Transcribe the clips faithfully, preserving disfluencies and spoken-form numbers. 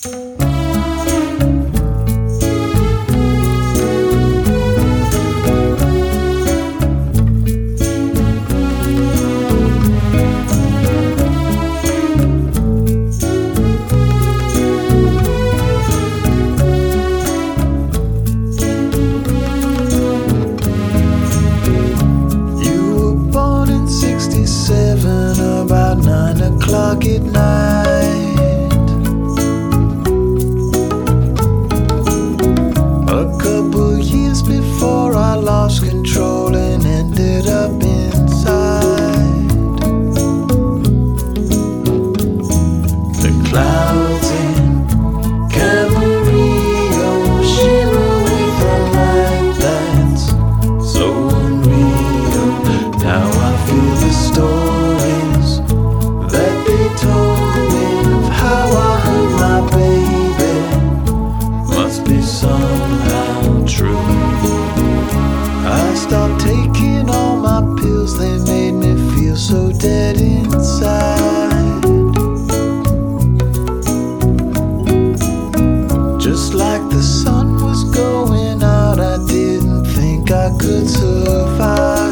About nine o'clock at night, a couple years before I lost control and ended up inside. The clouds in Camarillo shimmer with a light that's so unreal. Now I feel the stories that they told me of how I hurt my baby must be somehow true. I stopped taking all my pills, they made me feel so dead inside. Just like the sun was going out, I didn't think I could survive.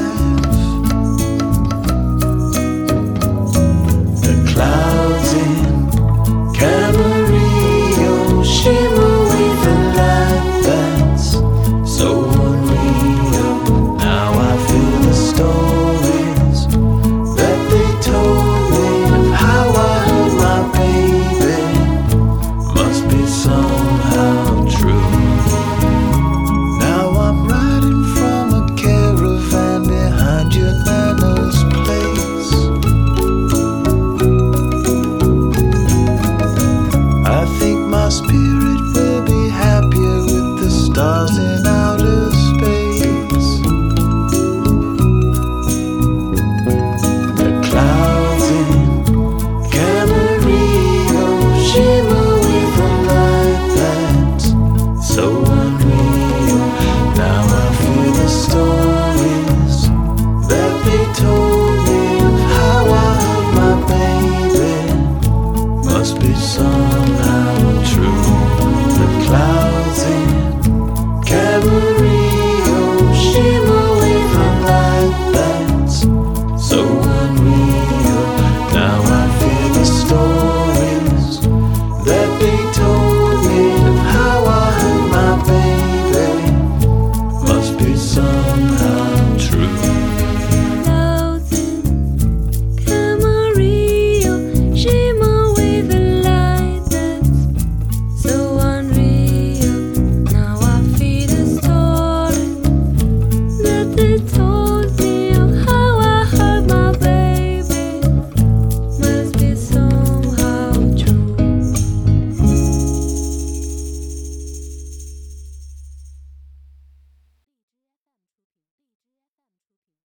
Clouds in Camarillo shimmer with a light that's so unreal. Now I feel the stories that they told me of how I hurt my baby must be somehow true. Now I'm riding from a caravan behind your nana's place. I think my spirit will be happier with the stars in outer space. The clouds in Camarillo shimmer with a light that's so unreal. Now I feel the stories that they told me of how I hurt my baby must be some